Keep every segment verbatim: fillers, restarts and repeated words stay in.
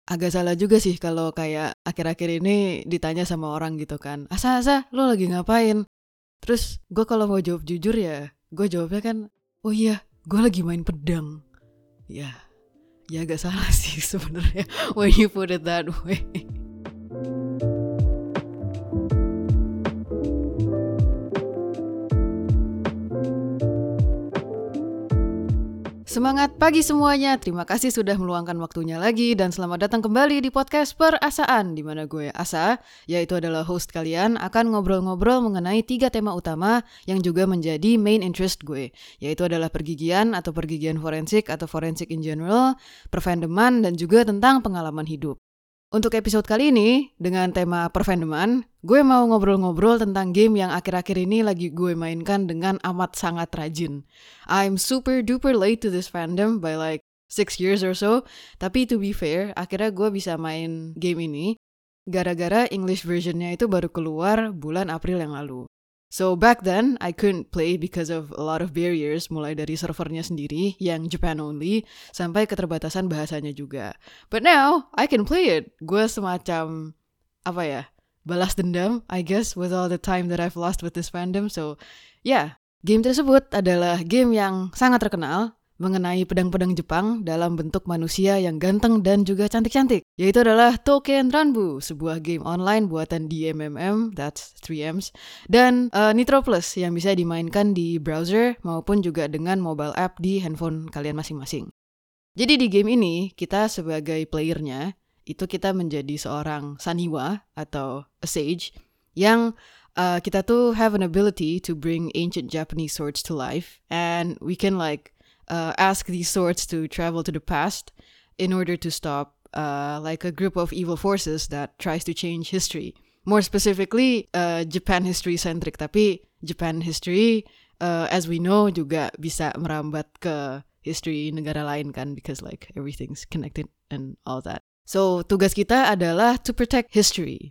agak salah juga sih kalau kayak akhir-akhir ini ditanya sama orang gitu kan, Asa, Asa, lo lagi ngapain? Terus gue kalau mau jawab jujur ya, gue jawabnya kan, oh iya, gue lagi main pedang. Ya, ya agak salah sih sebenarnya when you put it that way. Semangat pagi semuanya, terima kasih sudah meluangkan waktunya lagi dan selamat datang kembali di podcast Perasaan, di mana gue Asa, yaitu adalah host kalian, akan ngobrol-ngobrol mengenai tiga tema utama yang juga menjadi main interest gue, yaitu adalah pergigian atau pergigian forensik atau forensik in general, perfandoman, dan juga tentang pengalaman hidup. Untuk episode kali ini, dengan tema perfandoman, gue mau ngobrol-ngobrol tentang game yang akhir-akhir ini lagi gue mainkan dengan amat sangat rajin. I'm super duper late to this fandom by like six years or so, tapi to be fair, akhirnya gue bisa main game ini gara-gara English versionnya itu baru keluar bulan April yang lalu. So back then, I couldn't play because of a lot of barriers, mulai dari servernya sendiri yang Japan only, sampai keterbatasan bahasanya juga. But now, I can play it. Gue semacam, apa ya, balas dendam, I guess, with all the time that I've lost with this fandom. So, yeah, game tersebut adalah game yang sangat terkenal mengenai pedang-pedang Jepang dalam bentuk manusia yang ganteng dan juga cantik-cantik, yaitu adalah Touken Ranbu, sebuah game online buatan D M M M, that's three M's, dan uh, Nitro Plus yang bisa dimainkan di browser maupun juga dengan mobile app di handphone kalian masing-masing. Jadi di game ini, kita sebagai playernya, itu kita menjadi seorang Saniwa atau a sage yang uh, kita tuh have an ability to bring ancient Japanese swords to life, and we can like Uh, ask these swords to travel to the past in order to stop uh, like a group of evil forces that tries to change history. More specifically, uh, Japan history centric, tapi Japan history uh, as we know juga bisa merambat ke history negara lain kan, because like everything's connected and all that. So tugas kita adalah to protect history.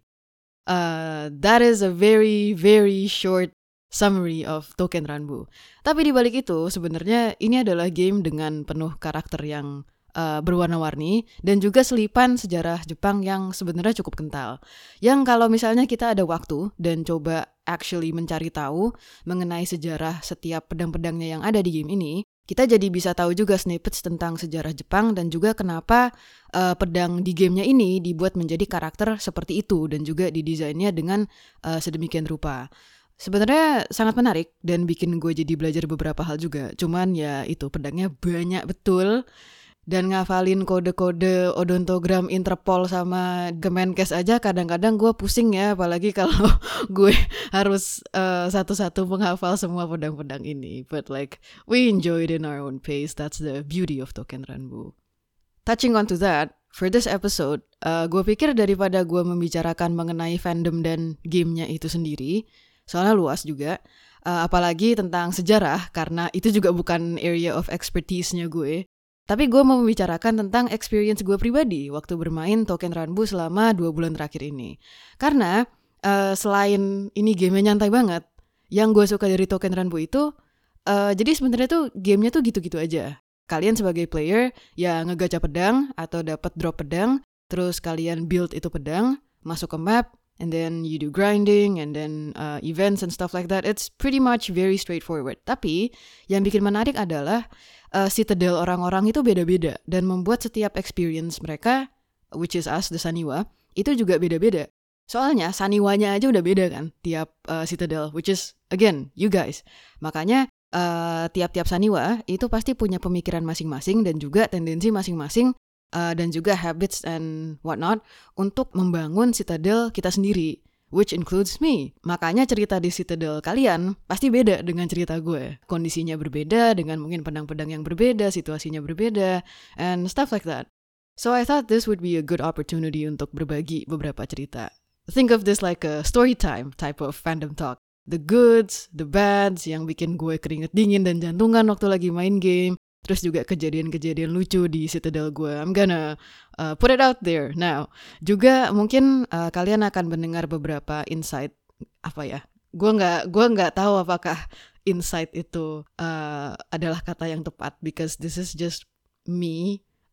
Uh, that is a very very short summary of Touken Ranbu. Tapi di balik itu sebenarnya ini adalah game dengan penuh karakter yang uh, berwarna-warni dan juga selipan sejarah Jepang yang sebenarnya cukup kental. Yang kalau misalnya kita ada waktu dan coba actually mencari tahu mengenai sejarah setiap pedang-pedangnya yang ada di game ini, kita jadi bisa tahu juga snippets tentang sejarah Jepang dan juga kenapa uh, pedang di gamenya ini dibuat menjadi karakter seperti itu dan juga didesainnya dengan uh, sedemikian rupa. Sebenarnya sangat menarik dan bikin gue jadi belajar beberapa hal juga. Cuman ya itu pedangnya banyak betul. Dan ngafalin kode-kode odontogram Interpol sama Kemenkes aja kadang-kadang gue pusing ya. Apalagi kalau gue harus uh, satu-satu menghafal semua pedang-pedang ini. But like we enjoy it in our own pace. That's the beauty of Touken Ranbu. Touching on to that, for this episode, uh, gue pikir daripada gue membicarakan mengenai fandom dan gamenya itu sendiri, soalnya luas juga, uh, apalagi tentang sejarah, karena itu juga bukan area of expertise-nya gue. Tapi gue mau membicarakan tentang experience gue pribadi waktu bermain Touken Ranbu selama dua bulan terakhir ini. Karena uh, selain ini gamenya nyantai banget, yang gue suka dari Touken Ranbu itu, uh, jadi sebenarnya tuh gamenya tuh gitu-gitu aja. Kalian sebagai player ya ngegacha pedang atau dapat drop pedang, terus kalian build itu pedang, masuk ke map, and then you do grinding, and then uh, events and stuff like that. It's pretty much very straightforward. Tapi yang bikin menarik adalah uh, citadel orang-orang itu beda-beda dan membuat setiap experience mereka, which is us, the Saniwa, itu juga beda-beda. Soalnya Saniwanya aja udah beda kan tiap uh, citadel, which is again you guys. Makanya uh, tiap-tiap Saniwa itu pasti punya pemikiran masing-masing dan juga tendensi masing-masing. Uh, dan juga habits and whatnot untuk membangun citadel kita sendiri, which includes me. Makanya cerita di citadel kalian pasti beda dengan cerita gue. Kondisinya berbeda, dengan mungkin pedang-pedang yang berbeda, situasinya berbeda, and stuff like that. So I thought this would be a good opportunity untuk berbagi beberapa cerita. Think of this like a story time type of fandom talk. The goods, the bads yang bikin gue keringet dingin dan jantungan waktu lagi main game. Terus juga kejadian-kejadian lucu di citadel gue. I'm gonna uh, put it out there now. Juga mungkin uh, kalian akan mendengar beberapa insight. Apa ya? Gue nggak, gue nggak tahu apakah insight itu uh, adalah kata yang tepat. Because this is just me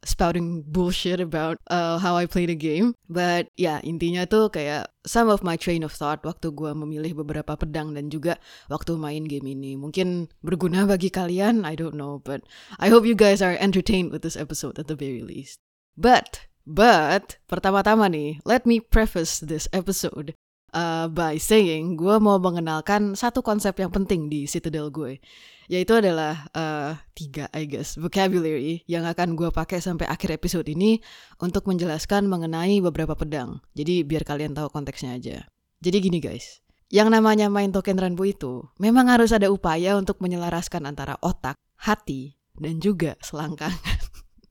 spouting bullshit about uh, how I play the game. But ya, yeah, intinya tuh kayak some of my train of thought waktu gue memilih beberapa pedang dan juga waktu main game ini. Mungkin berguna bagi kalian, I don't know. But I hope you guys are entertained with this episode at the very least. But, but, pertama-tama nih, let me preface this episode uh, by saying gue mau mengenalkan satu konsep yang penting di Citadel gue. Yaitu adalah uh, tiga, I guess, vocabulary yang akan gue pakai sampai akhir episode ini untuk menjelaskan mengenai beberapa pedang. Jadi biar kalian tahu konteksnya aja. Jadi gini guys, yang namanya main Token Ranbu itu memang harus ada upaya untuk menyelaraskan antara otak, hati, dan juga selangkangan.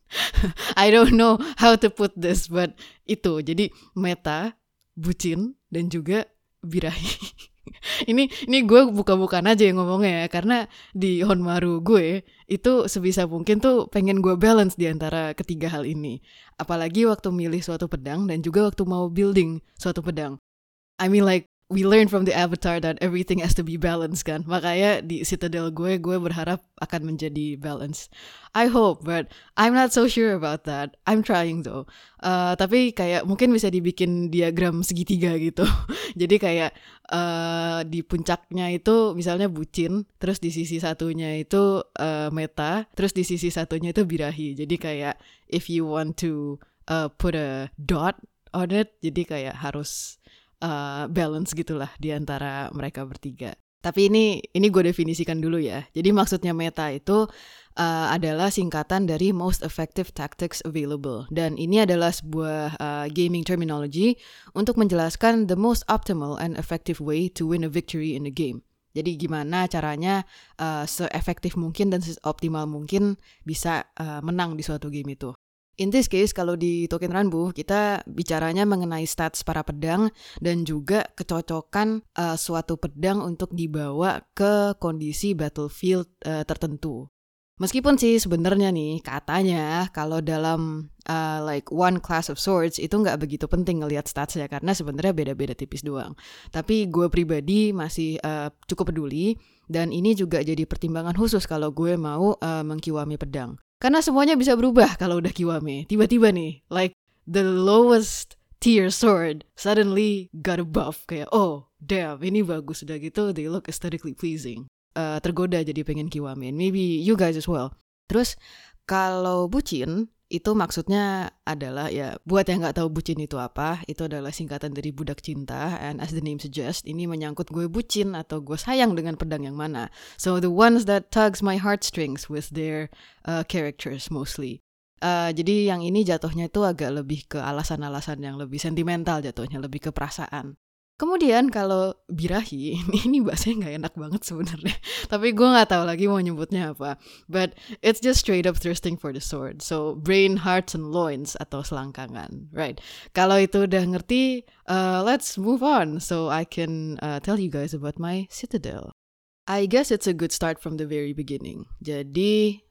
I don't know how to put this, but itu. Jadi meta, bucin, dan juga birahi. ini ini gue buka-bukaan aja yang ngomongnya ya, karena di Honmaru gue itu sebisa mungkin tuh pengen gue balance di antara ketiga hal ini. Apalagi waktu milih suatu pedang dan juga waktu mau building suatu pedang. I mean like we learn from the Avatar that everything has to be balanced kan. Makanya di Citadel gue, gue berharap akan menjadi balance. I hope, but I'm not so sure about that. I'm trying though. Uh, tapi kayak mungkin bisa dibikin diagram segitiga gitu. Jadi kayak uh, di puncaknya itu misalnya bucin, terus di sisi satunya itu uh, meta, terus di sisi satunya itu birahi. Jadi kayak if you want to uh, put a dot on it, jadi kayak harus Uh, balance gitulah di antara mereka bertiga. Tapi ini ini gue definisikan dulu ya. Jadi maksudnya meta itu uh, adalah singkatan dari most effective tactics available. Dan ini adalah sebuah uh, gaming terminology untuk menjelaskan the most optimal and effective way to win a victory in the game. Jadi gimana caranya uh, se-efektif mungkin dan se-optimal mungkin bisa uh, menang di suatu game itu. In this case, kalau di Token Ranbu, kita bicaranya mengenai stats para pedang dan juga kecocokan uh, suatu pedang untuk dibawa ke kondisi battlefield uh, tertentu. Meskipun sih sebenarnya nih katanya kalau dalam uh, like one class of swords itu nggak begitu penting ngelihat statsnya karena sebenarnya beda-beda tipis doang. Tapi gue pribadi masih uh, cukup peduli dan ini juga jadi pertimbangan khusus kalau gue mau uh, mengkiwami pedang. Karena semuanya bisa berubah kalau udah kiwame. Tiba-tiba nih, like the lowest tier sword suddenly got a buff. Kayak, oh damn, ini bagus. Udah gitu, they look aesthetically pleasing. Uh, tergoda jadi pengen kiwame. Maybe you guys as well. Terus, kalau bucin, itu maksudnya adalah, ya buat yang gak tahu bucin itu apa, itu adalah singkatan dari budak cinta. And as the name suggests, ini menyangkut gue bucin atau gue sayang dengan pedang yang mana. So the ones that tugs my heartstrings with their uh, characters mostly. Uh, jadi yang ini jatuhnya itu agak lebih ke alasan-alasan yang lebih sentimental jatuhnya, lebih ke perasaan. Kemudian kalau birahi, ini, ini bahasanya gak enak banget sebenarnya. Tapi gue gak tahu lagi mau nyebutnya apa. But it's just straight up thirsting for the sword. So brain, hearts, and loins atau selangkangan. Right. Kalau itu udah ngerti, uh, let's move on. So I can uh, tell you guys about my Citadel. I guess it's a good start from the very beginning. Jadi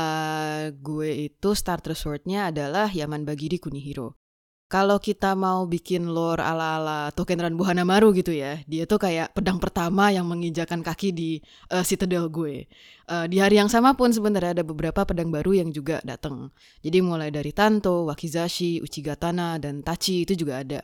uh, gue itu starter swordnya adalah Yamanbagiri Kunihiro. Kalau kita mau bikin lore ala-ala Token Ranbu Hanamaru gitu ya, dia tuh kayak pedang pertama yang menginjakan kaki di uh, Citadel gue. Uh, di hari yang sama pun sebenarnya ada beberapa pedang baru yang juga datang. Jadi mulai dari Tanto, Wakizashi, Uchigatana, dan Tachi itu juga ada.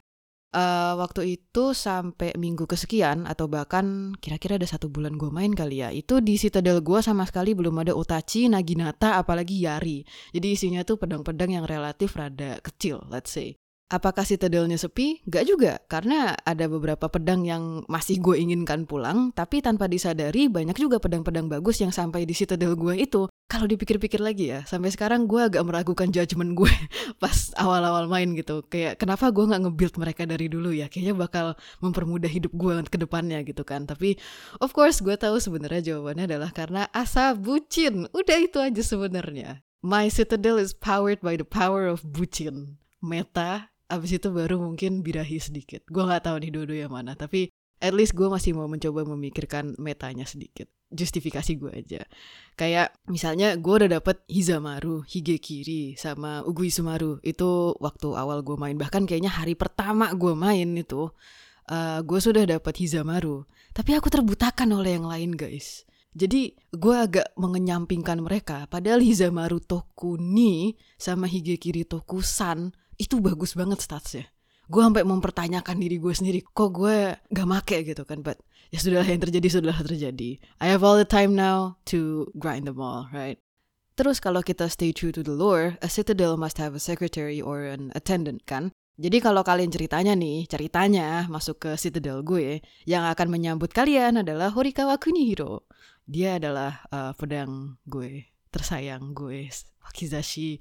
Uh, waktu itu sampai minggu kesekian atau bahkan kira-kira ada satu bulan gue main kali ya, itu di Citadel gue sama sekali belum ada Otachi, Naginata, apalagi Yari. Jadi isinya tuh pedang-pedang yang relatif rada kecil, let's say. Apakah Citadelnya sepi? Gak juga, karena ada beberapa pedang yang masih gue inginkan pulang, tapi tanpa disadari banyak juga pedang-pedang bagus yang sampai di Citadel gue itu. Kalau dipikir-pikir lagi ya, sampai sekarang gue agak meragukan judgement gue pas awal-awal main gitu. Kayak kenapa gue gak nge-build mereka dari dulu ya, kayaknya bakal mempermudah hidup gue ke depannya gitu kan. Tapi of course gue tahu sebenarnya jawabannya adalah karena asa bucin. Udah itu aja sebenarnya. My Citadel is powered by the power of bucin. Meta. Abis itu baru mungkin birahi sedikit. Gue gak tahu nih dua-duanya mana. Tapi at least gue masih mau mencoba memikirkan metanya sedikit. Justifikasi gue aja. Kayak misalnya gue udah dapet Hizamaru, Higekiri, sama Uguisumaru. Itu waktu awal gue main. Bahkan kayaknya hari pertama gue main itu. Uh, gue sudah dapet Hizamaru. Tapi aku terbutakan oleh yang lain guys. Jadi gue agak mengenyampingkan mereka. Padahal Hizamaru Tokuni sama Higekiri Tokusan itu bagus banget statsnya. Gue sampai mempertanyakan diri gue sendiri, kok gue gak make gitu kan. But ya sudahlah, yang terjadi sudah terjadi. I have all the time now to grind them all, right? Terus kalau kita stay true to the lore, a citadel must have a secretary or an attendant kan. Jadi kalau kalian ceritanya nih, ceritanya masuk ke citadel gue, yang akan menyambut kalian adalah Horikawa Kunihiro. Dia adalah uh, pedang gue, tersayang gue, Wakizashi,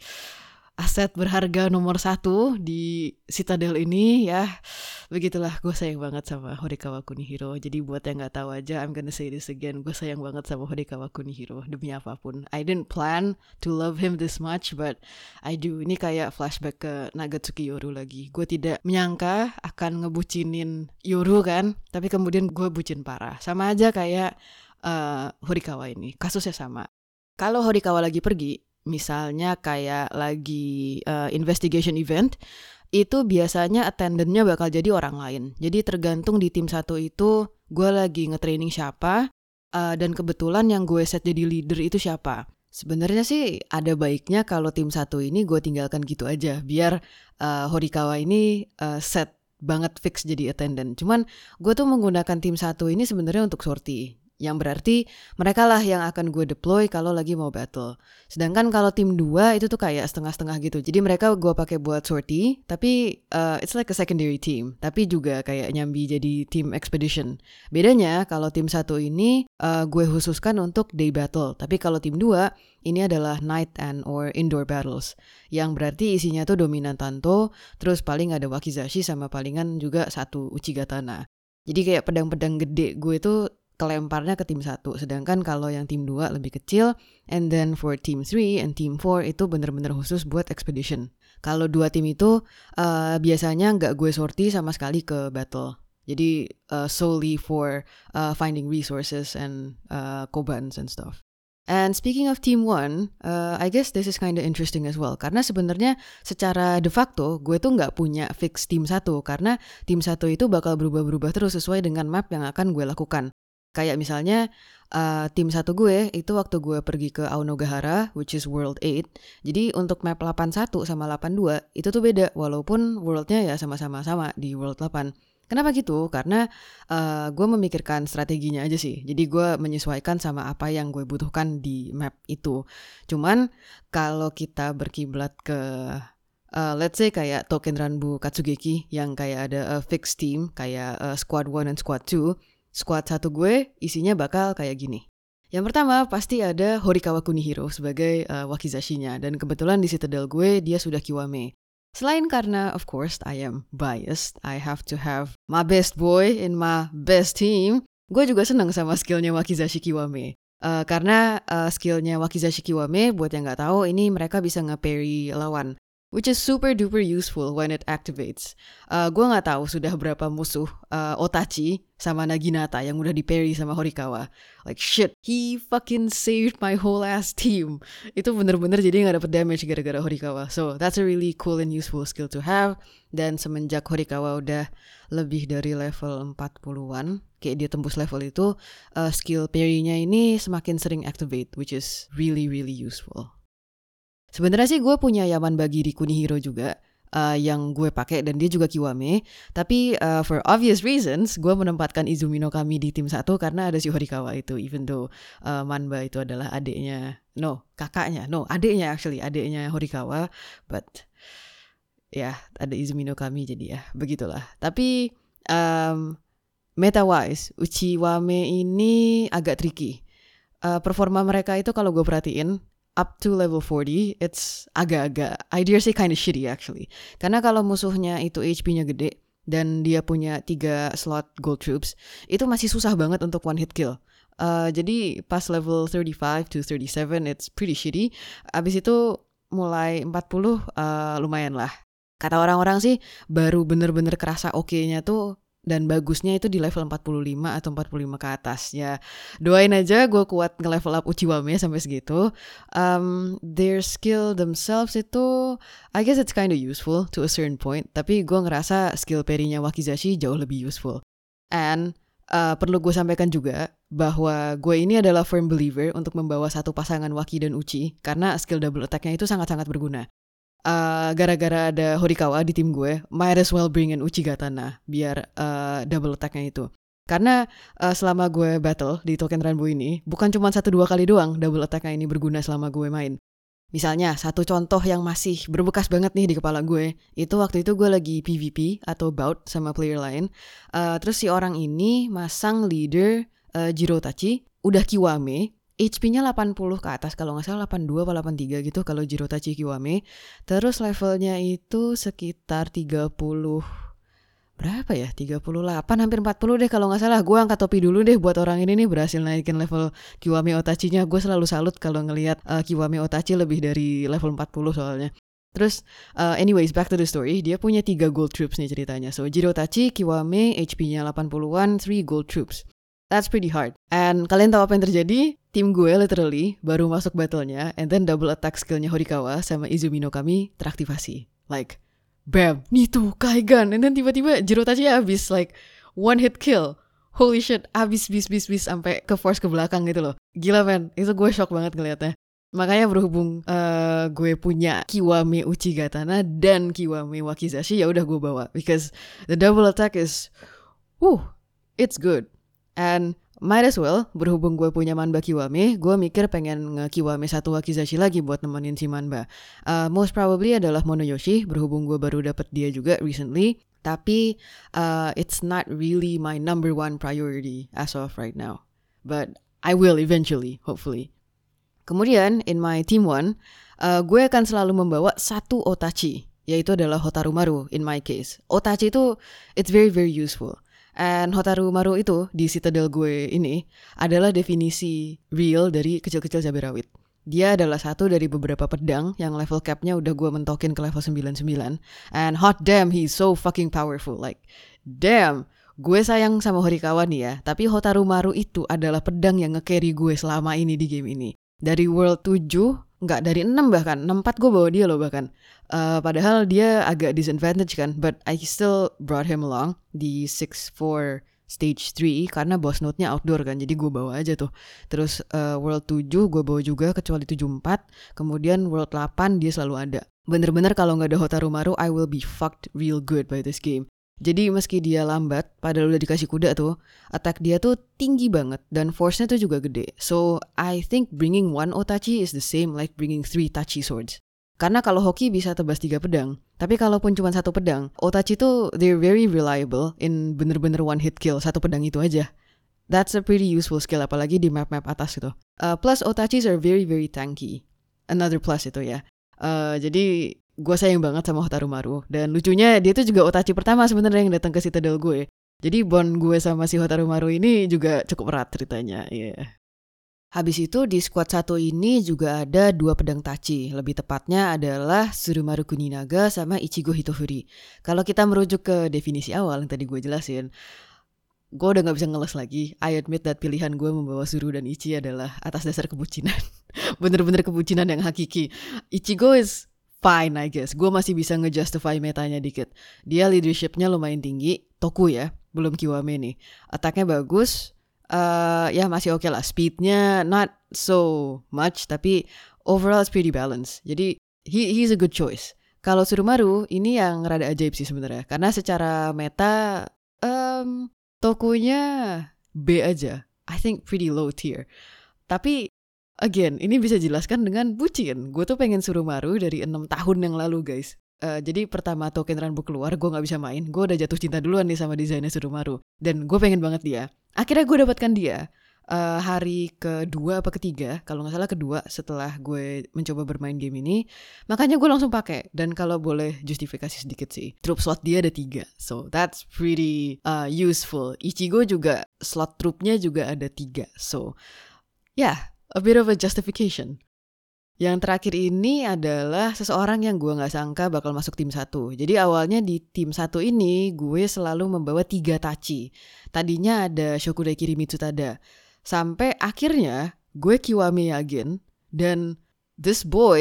aset berharga nomor satu di citadel ini ya. Begitulah, gue sayang banget sama Horikawa Kunihiro. Jadi buat yang gak tahu aja, I'm gonna say this again, gue sayang banget sama Horikawa Kunihiro demi apapun. I didn't plan to love him this much, but I do. Ini kayak flashback ke Nagatsuki Yoru lagi. Gue tidak menyangka akan ngebucinin Yoru kan, tapi kemudian gue bucin parah. Sama aja kayak uh, Horikawa ini, kasusnya sama. Kalau Horikawa lagi pergi, misalnya kayak lagi uh, investigation event, itu biasanya attendantnya bakal jadi orang lain. Jadi tergantung di tim satu itu gue lagi nge-training siapa, uh, dan kebetulan yang gue set jadi leader itu siapa. Sebenarnya sih ada baiknya kalau tim satu ini gue tinggalkan gitu aja, biar uh, Horikawa ini uh, set banget fix jadi attendant. Cuman gue tuh menggunakan tim satu ini sebenarnya untuk sortie, yang berarti mereka lah yang akan gue deploy kalau lagi mau battle. Sedangkan kalau tim dua itu tuh kayak setengah-setengah gitu. Jadi mereka gue pakai buat sortie, tapi uh, it's like a secondary team. Tapi juga kayak nyambi jadi team expedition. Bedanya kalau tim satu ini uh, gue khususkan untuk day battle. Tapi kalau tim dua ini adalah night and or indoor battles. Yang berarti isinya tuh dominan Tanto, terus paling ada Wakizashi sama palingan juga satu Uchigatana. Jadi kayak pedang-pedang gede gue tuh kelemparnya ke tim satu, sedangkan kalau yang tim dua lebih kecil, and then for team three and team four itu bener-bener khusus buat expedition. Kalau dua tim itu uh, biasanya nggak gue sortie sama sekali ke battle, jadi uh, solely for uh, finding resources and uh, kobans and stuff. And speaking of team one, uh, I guess this is kind of interesting as well, karena sebenarnya secara de facto gue tuh nggak punya fix tim satu, karena tim satu itu bakal berubah-berubah terus sesuai dengan map yang akan gue lakukan. Kayak misalnya uh, tim satu gue itu waktu gue pergi ke Aonogahara, which is World eight. Jadi untuk map delapan puluh satu sama delapan puluh dua itu tuh beda, walaupun worldnya ya sama-sama sama di World delapan. Kenapa gitu? Karena uh, gue memikirkan strateginya aja sih. Jadi gue menyesuaikan sama apa yang gue butuhkan di map itu. Cuman kalau kita berkiblat ke Uh, let's say kayak Token Ranbu Katsugeki yang kayak ada a fixed team, kayak uh, Squad one dan Squad two. Squad satu gue isinya bakal kayak gini. Yang pertama pasti ada Horikawa Kunihiro sebagai uh, Wakizashinya, dan kebetulan di Citadel gue dia sudah Kiwame. Selain karena of course I am biased, I have to have my best boy in my best team. Gue juga seneng sama skillnya Wakizashi Kiwame. Uh, karena uh, skillnya Wakizashi Kiwame, buat yang gak tahu, ini mereka bisa nge-parry lawan, which is super duper useful when it activates. Uh, gue gak tahu sudah berapa musuh uh, Otachi sama Naginata yang udah di-parry sama Horikawa. Like shit, he fucking saved my whole ass team. Itu bener-bener jadi gak dapet damage gara-gara Horikawa. So that's a really cool and useful skill to have. Dan semenjak Horikawa udah lebih dari level empat puluhan, kayak dia tembus level itu, uh, skill parry-nya ini semakin sering activate, which is really really useful. Sebenarnya sih gue punya Yaman Bagi di Kunihiro juga, uh, yang gue pakai, dan dia juga Kiwame. Tapi uh, for obvious reasons, gue menempatkan Izumi no Kami di tim satu karena ada si Horikawa itu. Even though uh, Manba itu adalah adiknya, no, kakaknya, no, adiknya actually, adiknya Horikawa. But ya, yeah, ada Izumi no Kami jadi ya, begitulah. Tapi um, meta-wise, Uchiwame ini agak tricky. Uh, performa mereka itu kalau gue perhatiin, up to level forty, it's agak-agak, I dare say kind of shitty actually. Karena kalau musuhnya itu H P-nya gede, dan dia punya tiga slot gold troops, itu masih susah banget untuk one hit kill. Uh, jadi pas level thirty-five to thirty-seven, it's pretty shitty. Abis itu mulai empat puluh, uh, lumayan lah. Kata orang-orang sih, baru bener-bener kerasa oke-nya tuh dan bagusnya itu di level empat puluh lima atau empat puluh lima ke atas. Ya, doain aja gue kuat nge-level up Uchiwame sampai segitu. Um, their skill themselves itu, I guess it's kind of useful to a certain point. Tapi gue ngerasa skill parry-nya Wakizashi jauh lebih useful. And uh, perlu gue sampaikan juga bahwa gue ini adalah firm believer untuk membawa satu pasangan Waki dan Uchi karena skill double attack-nya itu sangat-sangat berguna. Uh, gara-gara ada Horikawa di tim gue, might as well bring in Uchigatana biar uh, double attack-nya itu. Karena uh, selama gue battle di Token Ranbu ini, bukan cuma satu dua kali doang double attack-nya ini berguna selama gue main. Misalnya, satu contoh yang masih berbekas banget nih di kepala gue, itu waktu itu gue lagi P V P atau bout sama player lain. Uh, terus si orang ini masang leader uh, Jirotachi, udah Kiwame, H P-nya delapan puluh ke atas, kalau nggak salah delapan puluh dua atau delapan puluh tiga gitu kalau Jirotachi Kiwame. Terus levelnya itu sekitar tiga puluh, berapa ya? tiga puluh delapan, hampir empat puluh deh kalau nggak salah. Gue angkat topi dulu deh buat orang ini nih berhasil naikin level Kiwame Otachi-nya. Gue selalu salut kalau ngelihat uh, Kiwame Otachi lebih dari level empat puluh soalnya. Terus uh, anyways, back to the story. Dia punya tiga gold troops nih ceritanya. So Jirotachi, Kiwame, H P-nya delapan puluhan, three gold troops. That's pretty hard. And kalian tahu apa yang terjadi? Tim gue literally baru masuk battle-nya, and then double attack skill-nya Horikawa sama Izumi no Kami teraktivasi. Like, bam, nih tuh, Kaigan. And then tiba-tiba Jirotachi habis, like, one hit kill. Holy shit, habis, bis, bis, bis, sampai ke force ke belakang gitu loh. Gila, man. Itu gue shock banget ngeliatnya. Makanya berhubung uh, gue punya Kiwame Uchigatana dan Kiwame Wakizashi, ya udah gue bawa. Because the double attack is, whew, it's good. And might as well, berhubung gue punya Manba Kiwame, gue mikir pengen nge-Kiwame satu Wakizashi lagi buat nemenin si Manba. Uh, most probably adalah Monoyoshi, berhubung gue baru dapet dia juga recently. Tapi uh, it's not really my number one priority as of right now. But I will eventually, hopefully. Kemudian, in my team one, uh, gue akan selalu membawa satu Otachi, yaitu adalah Hotaru Maru in my case. Otachi itu, it's very very useful. And Hotaru Maru itu di Citadel gue ini adalah definisi real dari kecil-kecil cabai rawit. Dia adalah satu dari beberapa pedang yang level capnya udah gue mentokin ke level sembilan puluh sembilan. And hot damn, he's so fucking powerful. Like, damn, gue sayang sama Horikawa nih ya. Tapi Hotaru Maru itu adalah pedang yang nge-carry gue selama ini di game ini. Dari World tujuh, enggak, dari enam bahkan, enam empat gue bawa dia loh bahkan. Uh, padahal dia agak disadvantage kan, but I still brought him along di six four stage three karena boss note-nya outdoor kan, jadi gue bawa aja tuh. Terus uh, World tujuh gue bawa juga kecuali tujuh empat, kemudian World delapan dia selalu ada. Bener-bener kalau gak ada Hotaru Maru, I will be fucked real good by this game. Jadi meski dia lambat, padahal udah dikasih kuda tuh, attack dia tuh tinggi banget dan force-nya tuh juga gede. So I think bringing one Otachi is the same like bringing three Tachi swords. Karena kalau hoki bisa tebas tiga pedang, tapi kalaupun cuma satu pedang, Otachi tuh they're very reliable in bener-bener one hit kill satu pedang itu aja. That's a pretty useful skill, apalagi di map-map atas gitu. Uh, plus Otachis are very very tanky. Another plus itu ya. Uh, jadi gue sayang banget sama Hotaru Maru. Dan lucunya dia tuh juga Otachi pertama sebenarnya yang datang ke Citadel gue. Jadi bond gue sama si Hotaru Maru ini juga cukup erat ceritanya. Iya. Yeah. Habis itu di squad satu ini juga ada dua pedang Tachi. Lebih tepatnya adalah Tsurumaru Kuninaga sama Ichigo Hitofuri. Kalau kita merujuk ke definisi awal yang tadi gue jelasin, gue udah gak bisa ngeles lagi. I admit that pilihan gue membawa Tsuru dan Ichi adalah atas dasar kebucinan. Bener-bener kebucinan yang hakiki. Ichigo is fine I guess. Gue masih bisa ngejustify metanya dikit. Dia leadershipnya lumayan tinggi. Toku ya, belum Kiwame nih. Attacknya bagus. Uh, ya masih oke okay lah. Speednya not so much, tapi overall it's pretty balanced. Jadi he he's a good choice. Kalau Tsurumaru ini yang rada ajaib sih sebenarnya. Karena secara meta um, Tokunya B aja. I think pretty low tier. Tapi again, ini bisa jelaskan dengan bucin. Gue tuh pengen Tsurumaru dari enam tahun yang lalu guys. Uh, jadi pertama Token Ranbu keluar, gue gak bisa main. Gue udah jatuh cinta duluan nih sama desainnya Tsurumaru. Dan gue pengen banget dia. Akhirnya gue dapatkan dia uh, hari kedua apa ketiga, kalau gak salah kedua setelah gue mencoba bermain game ini. Makanya gue langsung pakai. Dan kalau boleh justifikasi sedikit sih, troop slot dia ada tiga. So that's pretty uh, useful. Ichigo juga, slot troopnya juga ada tiga. So yeah, a bit of a justification. Yang terakhir ini adalah seseorang yang gue gak sangka bakal masuk tim satu. Jadi awalnya di tim satu ini gue selalu membawa tiga Tachi. Tadinya ada Shokudai Kirimitsu Tada. Sampai akhirnya gue Kiwame Yagen. Dan this boy,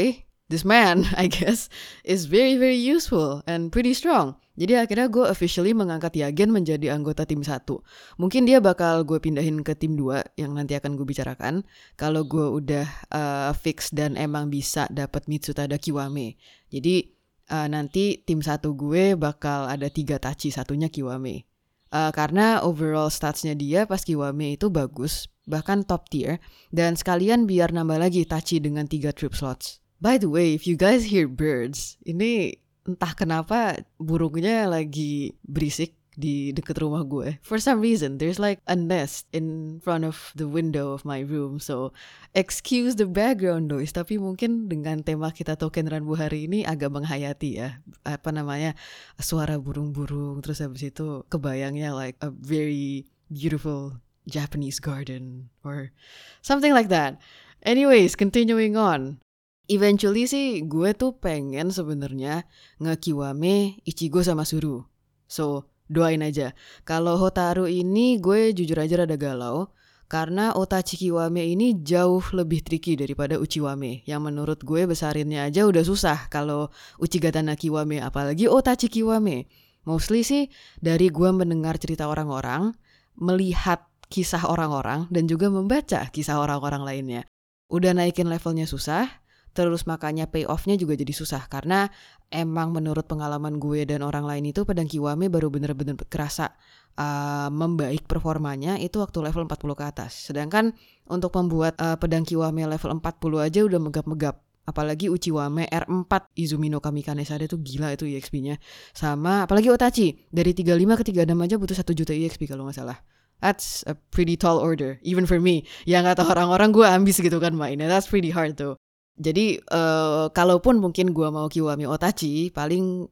this man, I guess, is very very useful and pretty strong. Jadi akhirnya gue officially mengangkat Yagen menjadi anggota tim satu. Mungkin dia bakal gue pindahin ke tim dua yang nanti akan gue bicarakan. Kalau gue udah uh, fix dan emang bisa dapat Mitsutada Kiwame. Jadi uh, nanti tim satu gue bakal ada tiga Tachi, satunya Kiwame. Uh, karena overall statsnya dia pas Kiwame itu bagus, bahkan top tier. Dan sekalian biar nambah lagi Tachi dengan tiga trip slots. By the way, if you guys hear birds, ini entah kenapa burungnya lagi berisik di deket rumah gue. For some reason, there's like a nest in front of the window of my room. So, excuse the background noise. Tapi mungkin dengan tema kita Token Ranbu hari ini agak menghayati ya. Apa namanya, suara burung-burung. Terus habis itu kebayangnya like a very beautiful Japanese garden. Or something like that. Anyways, continuing on. Eventually sih gue tuh pengen sebenarnya nge-Kiwame Ichigo sama Suru. So, doain aja. Kalau Hotaru ini gue jujur aja rada galau. Karena Otachi Kiwame ini jauh lebih tricky daripada Uchiwame. Yang menurut gue besarinnya aja udah susah kalau Uchigatana Kiwame. Apalagi Otachi Kiwame. Mostly sih dari gue mendengar cerita orang-orang, melihat kisah orang-orang, dan juga membaca kisah orang-orang lainnya. Udah naikin levelnya susah. Terus makanya payoff-nya juga jadi susah. Karena emang menurut pengalaman gue dan orang lain itu pedang Kiwame baru bener-bener kerasa uh, membaik performanya itu waktu level empat puluh ke atas. Sedangkan untuk membuat uh, pedang Kiwame level empat puluh aja udah megap-megap. Apalagi Uchiwame R empat Izumi no Kami Kanesade tuh gila itu E X P-nya. Sama apalagi Otachi dari tiga puluh lima ke tiga puluh enam aja butuh satu juta E X P kalau gak salah. That's a pretty tall order. Even for me. Yang kata orang-orang gue ambis gitu kan mainnya. That's pretty hard tuh. Jadi uh, kalaupun mungkin gue mau Kiwame Otachi, paling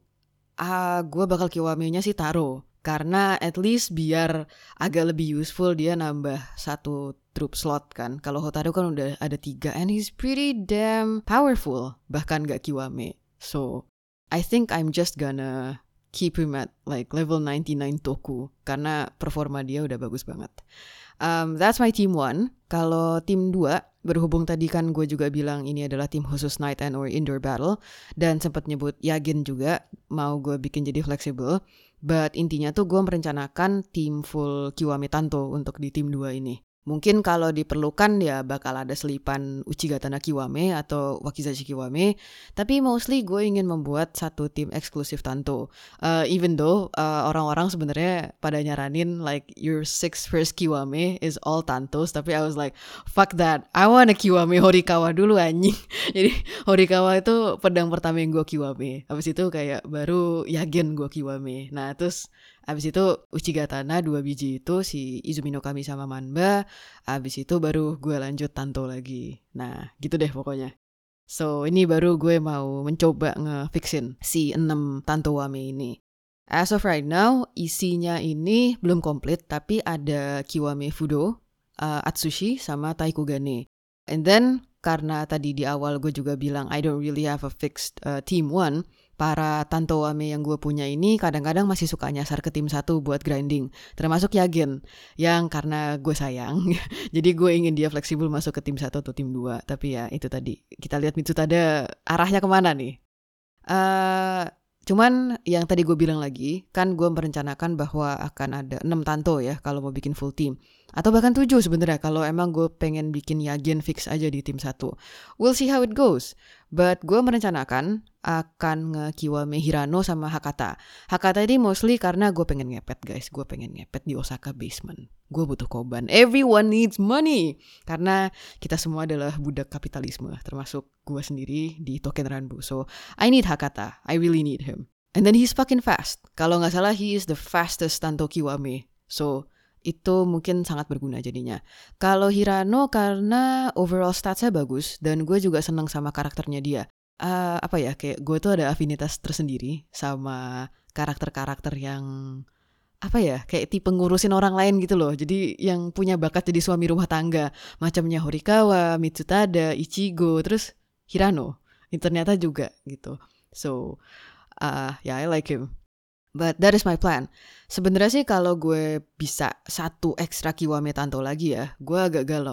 uh, gue bakal Kiwame-nya sih Taro. Karena at least biar agak lebih useful dia nambah satu troop slot kan. Kalau Hotaru kan udah ada tiga and he's pretty damn powerful. Bahkan gak Kiwame. So I think I'm just gonna keep him at like level ninety-nine Toku. Karena performa dia udah bagus banget. Um, that's my team one. Kalau tim dua, berhubung tadi kan gue juga bilang ini adalah tim khusus night and or indoor battle. Dan sempat nyebut Yagen juga, mau gue bikin jadi fleksibel. But intinya tuh gue merencanakan tim full Kiwame Tanto untuk di tim dua ini. Mungkin kalau diperlukan ya bakal ada selipan Uchigatana Kiwame atau Wakizashi Kiwame. Tapi mostly gue ingin membuat satu tim eksklusif Tanto. Uh, even though uh, orang-orang sebenarnya pada nyaranin like your six first Kiwame is all Tantos. Tapi I was like fuck that. I want a Kiwame Horikawa dulu anjing. Jadi Horikawa itu pedang pertama yang gue Kiwame. Habis itu kayak baru Yagen gue Kiwame. Nah terus abis itu Uchigatana dua biji itu si Izumi no Kami sama Manba. Abis itu baru gue lanjut Tanto lagi. Nah gitu deh pokoknya. So ini baru gue mau mencoba ngefixin si enam Tanto Wame ini. As of right now isinya ini belum komplit. Tapi ada Kiwame Fudo, uh, Atsushi sama Taikugane. And then karena tadi di awal gue juga bilang I don't really have a fixed uh, team one. Para Tanto Wame yang gue punya ini kadang-kadang masih suka nyasar ke tim satu buat grinding. Termasuk Yagen. Yang karena gue sayang. Jadi gue ingin dia fleksibel masuk ke tim satu atau tim dua. Tapi ya itu tadi. Kita lihat Mitsutada arahnya kemana nih. Uh, cuman yang tadi gue bilang lagi. Kan gue merencanakan bahwa akan ada enam Tanto ya. Kalau mau bikin full team. Atau bahkan tujuh sebenarnya. Kalau emang gue pengen bikin Yagen fix aja di tim satu. We'll see how it goes. But gue merencanakan akan nge-Kiwame Hirano sama Hakata. Hakata ini mostly karena gue pengen ngepet guys. Gue pengen ngepet di Osaka basement. Gue butuh koban. Everyone needs money. Karena kita semua adalah budak kapitalisme. Termasuk gue sendiri di Token Ranbu. So I need Hakata. I really need him. And then he's fucking fast. Kalau gak salah he is the fastest Tanto Kiwame. So itu mungkin sangat berguna jadinya. Kalau Hirano karena overall statsnya bagus dan gue juga seneng sama karakternya dia. Uh, apa ya kayak gue tuh ada afinitas tersendiri sama karakter-karakter yang apa ya kayak tipe ngurusin orang lain gitu loh. Jadi yang punya bakat jadi suami rumah tangga macamnya Horikawa, Mitsutada, Ichigo, terus Hirano. Ini ternyata juga gitu. So uh, yeah, I like him. But that is my plan. Sebenarnya sih kalau gue bisa satu ekstra Kiwame Tanto lagi ya, gue agak galau.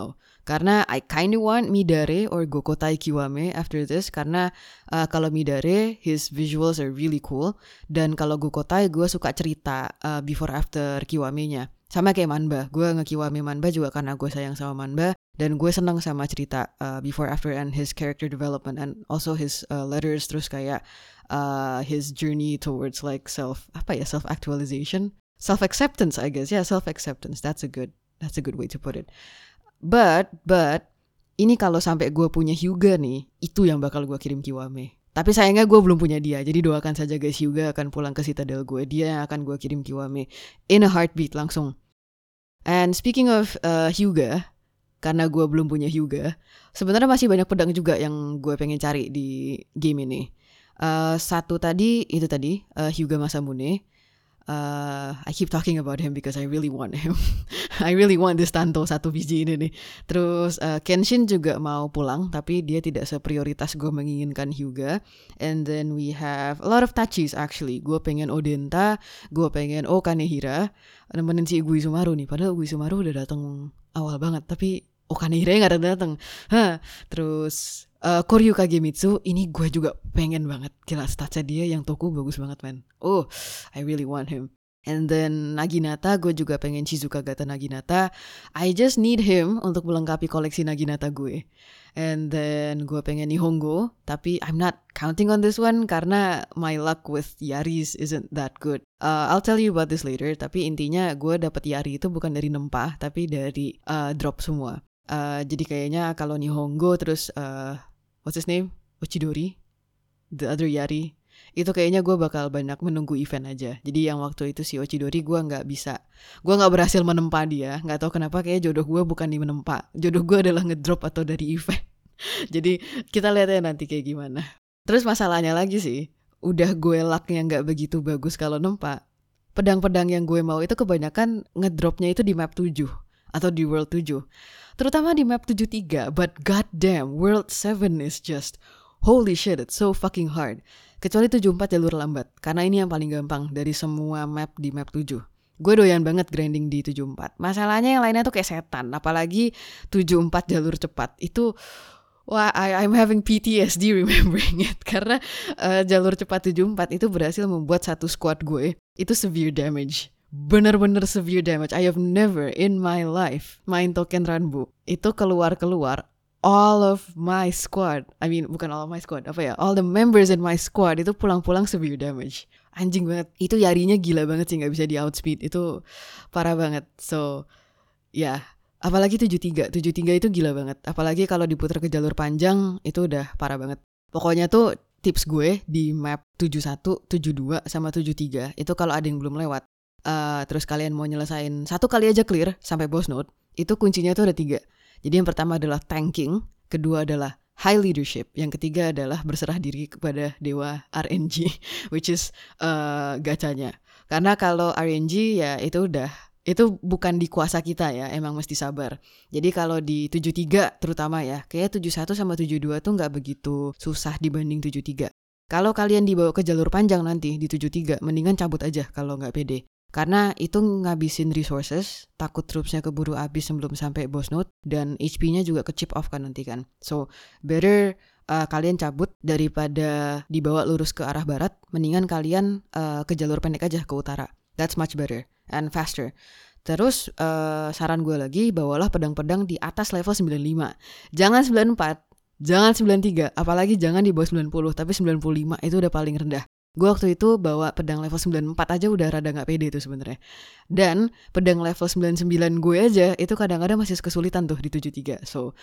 Karena I kinda want Midare or Gokotai Kiwame after this. Karena uh, kalau Midare, his visuals are really cool. Dan kalau Gokotai, gue suka cerita uh, before after Kiwame-nya. Sama kayak Manba. Gue nge-Kiwame Manba juga karena gue sayang sama Manba. Dan gue seneng sama cerita uh, before after and his character development. And also his uh, letters, terus kayak uh, his journey towards like self, apa ya, self-actualization. Self-acceptance, I guess. Yeah, self-acceptance. That's a good, that's a good way to put it. But, but, ini kalau sampai gue punya Hyuga nih, itu yang bakal gue kirim Kiwame. Tapi sayangnya gue belum punya dia, jadi doakan saja guys, Hyuga akan pulang ke Citadel gue. Dia yang akan gue kirim Kiwame in a heartbeat langsung. And speaking of uh, Hyuga, karena gue belum punya Hyuga, sebenarnya masih banyak pedang juga yang gue pengen cari di game ini. Uh, satu tadi, itu tadi, uh, Hyuga Masamune. Uh, I keep talking about him because I really want him. I really want this Tanto satu biji ini nih. Terus uh, Kenshin juga mau pulang, tapi dia tidak seprioritas gue menginginkan Hyuga. And then we have a lot of Tachis actually. Gue pengen Odenta, gue pengen Oh Kanehira, nemenin si Uguisumaru nih. Padahal Uguisumaru udah datang awal banget, tapi Oh Kanehira nggak datang. Huh. Terus Uh, Koryu Kagemitsu, ini gue juga pengen banget. Gila, statsnya dia yang Toku bagus banget, man. Oh, I really want him. And then Naginata, gue juga pengen Shizuka Gata Naginata. I just need him untuk melengkapi koleksi Naginata gue. And then gue pengen Nihongo, tapi I'm not counting on this one karena my luck with Yaris isn't that good. Uh, I'll tell you about this later, tapi intinya gue dapet Yari itu bukan dari nempah, tapi dari uh, drop semua. Uh, jadi kayaknya kalau Nihongo terus... Uh, what's his name? Ochidori, the other Yari. Itu kayaknya gue bakal banyak menunggu event aja. Jadi yang waktu itu si Ochidori gue nggak bisa, gue nggak berhasil menempa dia. Nggak tahu kenapa, kayak jodoh gue bukan di menempa. Jodoh gue adalah ngedrop atau dari event. Jadi kita lihat ya nanti kayak gimana. Terus masalahnya lagi sih, udah gue lucknya nggak begitu bagus kalau nempa. Pedang-pedang yang gue mau itu kebanyakan ngedropnya itu di map tujuh atau di world tujuh. Terutama di map tujuh tiga, but goddamn, World seven is just, holy shit, it's so fucking hard. Kecuali tujuh empat jalur lambat, karena ini yang paling gampang dari semua map di map tujuh. Gue doyan banget grinding di tujuh empat. Masalahnya yang lainnya tuh kayak setan, apalagi tujuh empat jalur cepat. Itu, wah, I, I'm having P T S D remembering it. Karena uh, jalur cepat tujuh empat itu berhasil membuat satu squad gue, itu severe damage. Bener-bener severe damage. I have never in my life main Token Ranbu itu keluar-keluar all of my squad, I mean bukan all of my squad, apa ya, all the members in my squad itu pulang-pulang severe damage. Anjing banget. Itu Yarinya gila banget sih, gak bisa di outspeed. Itu parah banget. So ya yeah. Apalagi tujuh tiga. tujuh tiga itu gila banget. Apalagi kalau diputar ke jalur panjang, itu udah parah banget. Pokoknya tuh tips gue di map tujuh satu, tujuh dua sama tujuh tiga itu kalau ada yang belum lewat, Uh, terus kalian mau nyelesain satu kali aja clear sampai boss node, itu kuncinya tuh ada tiga. Jadi yang pertama adalah tanking, kedua adalah high leadership, yang ketiga adalah berserah diri kepada dewa R N G, which is uh, gacanya. Karena kalau R N G ya itu udah, itu bukan di kuasa kita ya, emang mesti sabar. Jadi kalau di tujuh tiga terutama ya, kayak tujuh satu sama tujuh dua tuh gak begitu susah dibanding tujuh tiga. Kalau kalian dibawa ke jalur panjang nanti di tujuh tiga, mendingan cabut aja kalau gak pede. Karena itu ngabisin resources, takut troops-nya keburu habis sebelum sampai boss node, dan H P-nya juga ke chip off kan nanti kan. So, better uh, kalian cabut daripada dibawa lurus ke arah barat, mendingan kalian uh, ke jalur pendek aja ke utara. That's much better and faster. Terus uh, saran gue lagi, bawalah pedang-pedang di atas level sembilan puluh lima. Jangan sembilan puluh empat, jangan sembilan puluh tiga, apalagi jangan di bawah sembilan puluh, tapi sembilan puluh lima itu udah paling rendah. Gue waktu itu bawa pedang level sembilan puluh empat aja udah rada gak pede tuh sebenarnya. Dan pedang level sembilan puluh sembilan gue aja itu kadang-kadang masih kesulitan tuh di tujuh tiga. So,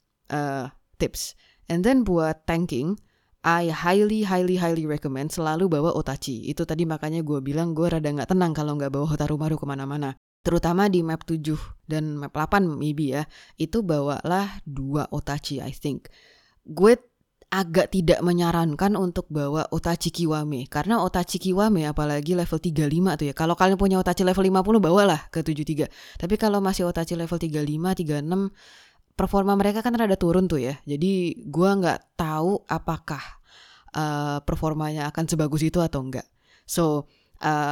uh, tips. And then buat tanking, I highly, highly, highly recommend selalu bawa Otachi. Itu tadi makanya gue bilang gue rada gak tenang kalau gak bawa Hotarumaru kemana-mana. Terutama di map tujuh dan map delapan maybe ya. Itu bawalah dua Otachi, I think. Gue agak tidak menyarankan untuk bawa Otachi Kiwame. Karena Otachi Kiwame apalagi level tiga puluh lima tuh ya. Kalau kalian punya Otachi level lima puluh, bawalah ke tujuh tiga. Tapi kalau masih Otachi level tiga puluh lima, tiga puluh enam, performa mereka kan rada turun tuh ya. Jadi gue gak tahu apakah uh, performanya akan sebagus itu atau enggak. So, uh,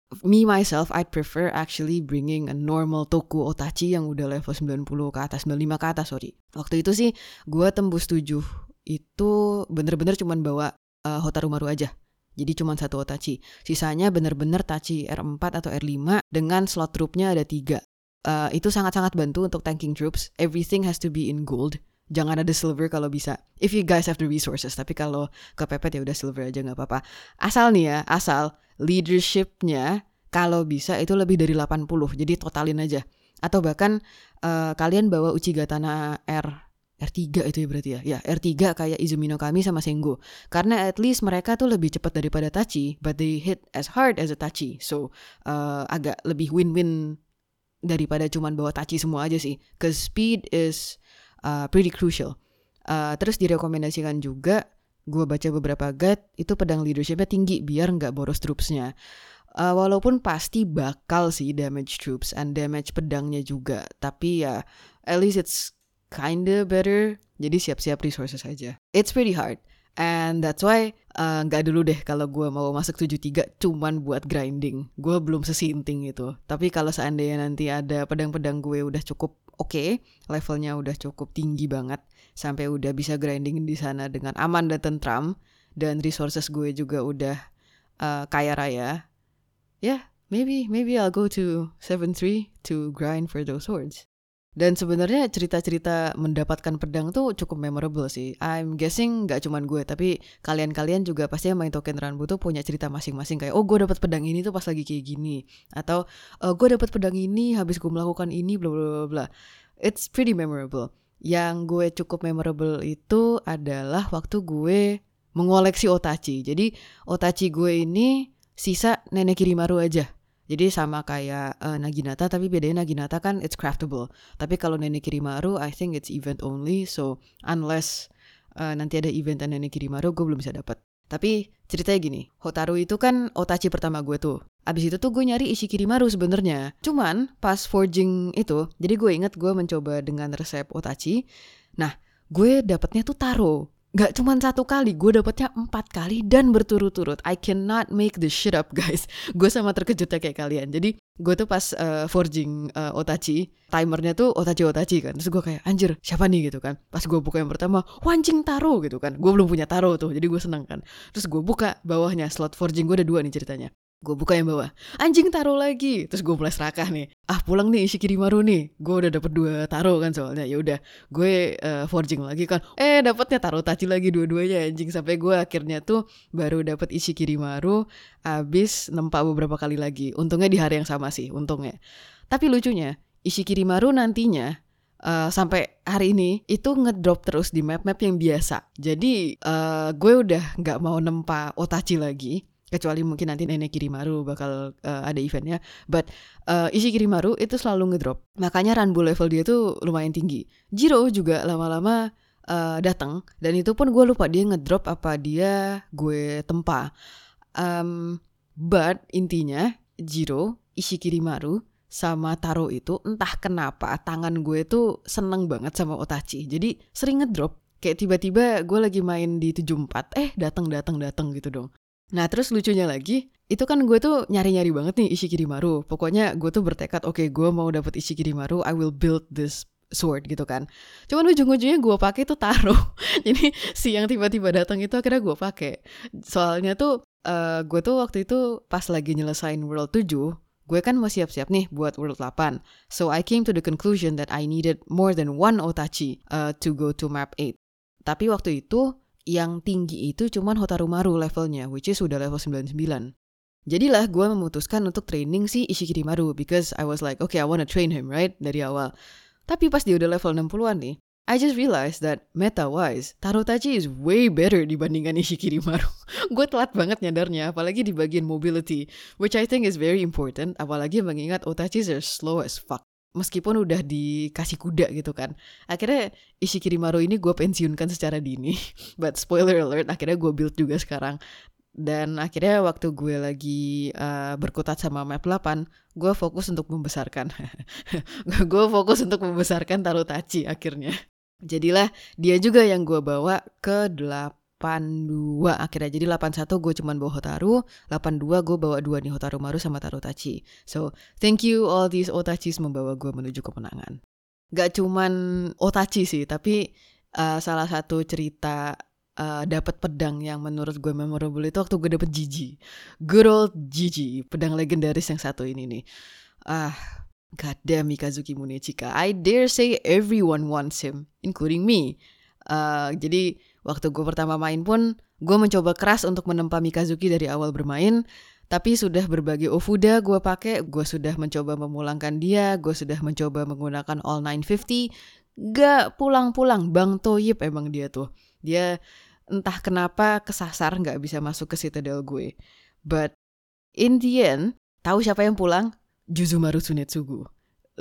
me myself, I'd prefer actually bringing a normal Toku Otachi yang udah level sembilan puluh ke atas, sembilan puluh lima ke atas, sorry. Waktu itu sih gue tembus tujuh itu bener-bener cuman bawa uh, Hotarumaru aja. Jadi cuma satu Otachi. Sisanya bener-bener Tachi R empat atau R lima dengan slot troopnya ada tiga. Uh, itu sangat-sangat bantu untuk tanking troops. Everything has to be in gold. Jangan ada silver kalau bisa. If you guys have the resources. Tapi kalau kepepet ya udah silver aja gak apa-apa. Asal nih ya, asal leadershipnya kalau bisa itu lebih dari delapan puluh. Jadi totalin aja. Atau bahkan uh, kalian bawa Uchigatana R R tiga itu ya berarti ya. Ya R tiga kayak Izumi no Kami sama Sengo. Karena at least mereka tuh lebih cepat daripada Tachi. But they hit as hard as a Tachi. So uh, agak lebih win-win daripada cuman bawa Tachi semua aja sih. Cause speed is uh, pretty crucial. Uh, terus direkomendasikan juga, gue baca beberapa guide, itu pedang leadershipnya tinggi biar gak boros troopsnya. Uh, walaupun pasti bakal sih damage troops and damage pedangnya juga. Tapi ya at least it's kinda better. Jadi siap-siap resources aja. It's pretty hard. And that's why uh, gak dulu deh kalau gue mau masuk tujuh tiga cuman buat grinding. Gue belum sesinting itu. Tapi kalau seandainya nanti ada pedang-pedang gue udah cukup oke, okay, levelnya udah cukup tinggi banget, sampai udah bisa grinding di sana dengan aman dan tentram, dan resources gue juga udah uh, kaya raya, ya yeah, maybe maybe I'll go to seven three to grind for those swords. Dan sebenarnya cerita-cerita mendapatkan pedang tuh cukup memorable sih. I'm guessing gak cuman gue, tapi kalian-kalian juga pasti yang main Token Ranbu tuh punya cerita masing-masing. Kayak, oh gue dapat pedang ini tuh pas lagi kayak gini. Atau, oh, gue dapat pedang ini habis gue melakukan ini, bla bla bla bla. It's pretty memorable. Yang gue cukup memorable itu adalah waktu gue mengoleksi Otachi. Jadi, Otachi gue ini sisa Nenek Kirimaru aja. Jadi sama kayak uh, Naginata, tapi bedanya Naginata kan it's craftable. Tapi kalau Nenek Kirimaru, I think it's event only. So unless uh, nanti ada event Nenek Kirimaru, gue belum bisa dapat. Tapi ceritanya gini, Hotaru itu kan Otachi pertama gue tuh. Abis itu tuh gue nyari Ishikirimaru sebenarnya. Cuman pas forging itu, jadi gue inget gue mencoba dengan resep Otachi. Nah, gue dapetnya tuh Taro. Gak cuma satu kali, gue dapetnya empat kali dan berturut-turut. I cannot make this shit up guys. Gue sama terkejutnya kayak kalian. Jadi gue tuh pas uh, forging uh, Otachi, timernya tuh Otachi-Otachi kan. Terus gue kayak anjir siapa nih gitu kan. Pas gue buka yang pertama, wancing Taro gitu kan. Gue belum punya Taro tuh, jadi gue seneng kan. Terus gue buka bawahnya, slot forging gue ada dua nih ceritanya. Gue buka yang bawah, anjing Taro lagi. Terus gue mulai serakah nih, ah pulang nih Ishikirimaru nih. Gue udah dapet dua Taro kan soalnya. Ya udah gue uh, forging lagi kan. Eh dapetnya Taro Tachi lagi dua-duanya anjing. Sampai gue akhirnya tuh baru dapet Ishikirimaru abis nempak beberapa kali lagi. Untungnya di hari yang sama sih, untungnya. Tapi lucunya Ishikirimaru nantinya uh, sampai hari ini itu ngedrop terus di map-map yang biasa. Jadi uh, gue udah gak mau nempa Otachi lagi, kecuali mungkin nanti Nenek Kirimaru bakal uh, ada eventnya. But uh, Ishikirimaru itu selalu ngedrop. Makanya Ranbu level dia tuh lumayan tinggi. Jiro juga lama-lama uh, datang, dan itu pun gue lupa dia ngedrop apa dia gue tempa. Um, but intinya Jiro, Ishikirimaru sama Taro itu entah kenapa tangan gue tuh seneng banget sama Otachi. Jadi sering ngedrop. Kayak tiba-tiba gue lagi main di tujuh empat, eh datang-datang-datang gitu dong. Nah terus lucunya lagi, itu kan gue tuh nyari-nyari banget nih Ishikirimaru. Pokoknya gue tuh bertekad, oke okay, gue mau dapet Ishikirimaru, I will build this sword gitu kan. Cuman ujung-ujungnya gue pakai tuh Taro. Jadi si yang tiba-tiba datang itu akhirnya gue pakai. Soalnya tuh uh, gue tuh waktu itu pas lagi nyelesain World tujuh, gue kan mau siap-siap nih buat World delapan. So I came to the conclusion that I needed more than one Otachi uh, to go to map eight. Tapi waktu itu yang tinggi itu cuman Hotarumaru levelnya, which is udah level sembilan puluh sembilan. Jadilah gue memutuskan untuk training si Ishikirimaru, because I was like, okay, I wanna train him, right? Dari awal. Tapi pas dia udah level enam puluhan nih, I just realized that meta-wise, Taro Tachi is way better dibandingkan Ishikirimaru. Gue telat banget nyadarnya, apalagi di bagian mobility, which I think is very important, apalagi mengingat Otachis are slow as fuck. Meskipun udah dikasih kuda gitu kan. Akhirnya Ishikirimaru ini gue pensiunkan secara dini. But spoiler alert, akhirnya gue build juga sekarang. Dan akhirnya waktu gue lagi uh, berkutat sama map delapan, gue fokus untuk membesarkan. Gue fokus untuk membesarkan Taro Tachi akhirnya. Jadilah dia juga yang gue bawa ke delapan delapan dua akhirnya. Jadi delapan satu gue cuman bawa Hotaru, delapan dua gue bawa dua nih, Hotaru Maru sama Tarutachi. So thank you all these Otachis membawa gue menuju kemenangan. Gak cuman Otachi sih, tapi uh, salah satu cerita uh, dapat pedang yang menurut gue memorable itu waktu gue dapet Jiji. Good old Jiji, pedang legendaris yang satu ini nih. Ah, god damn Mikazuki Munechika. I dare say everyone wants him, including me. Uh, jadi waktu gue pertama main pun gue mencoba keras untuk menempa Mikazuki dari awal bermain. Tapi sudah berbagai Ofuda gue pakai, gue sudah mencoba memulangkan dia, gue sudah mencoba menggunakan all nine fifty, gak pulang-pulang. Bang Toyib emang dia tuh. Dia entah kenapa kesasar gak bisa masuk ke Citadel gue. But in the end, tahu siapa yang pulang? Juzumaru Tsunetsugu.